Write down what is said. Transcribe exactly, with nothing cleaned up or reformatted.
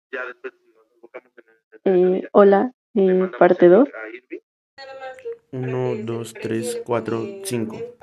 Eh, hola, eh, parte dos. Uno, dos, tres, cuatro, cinco.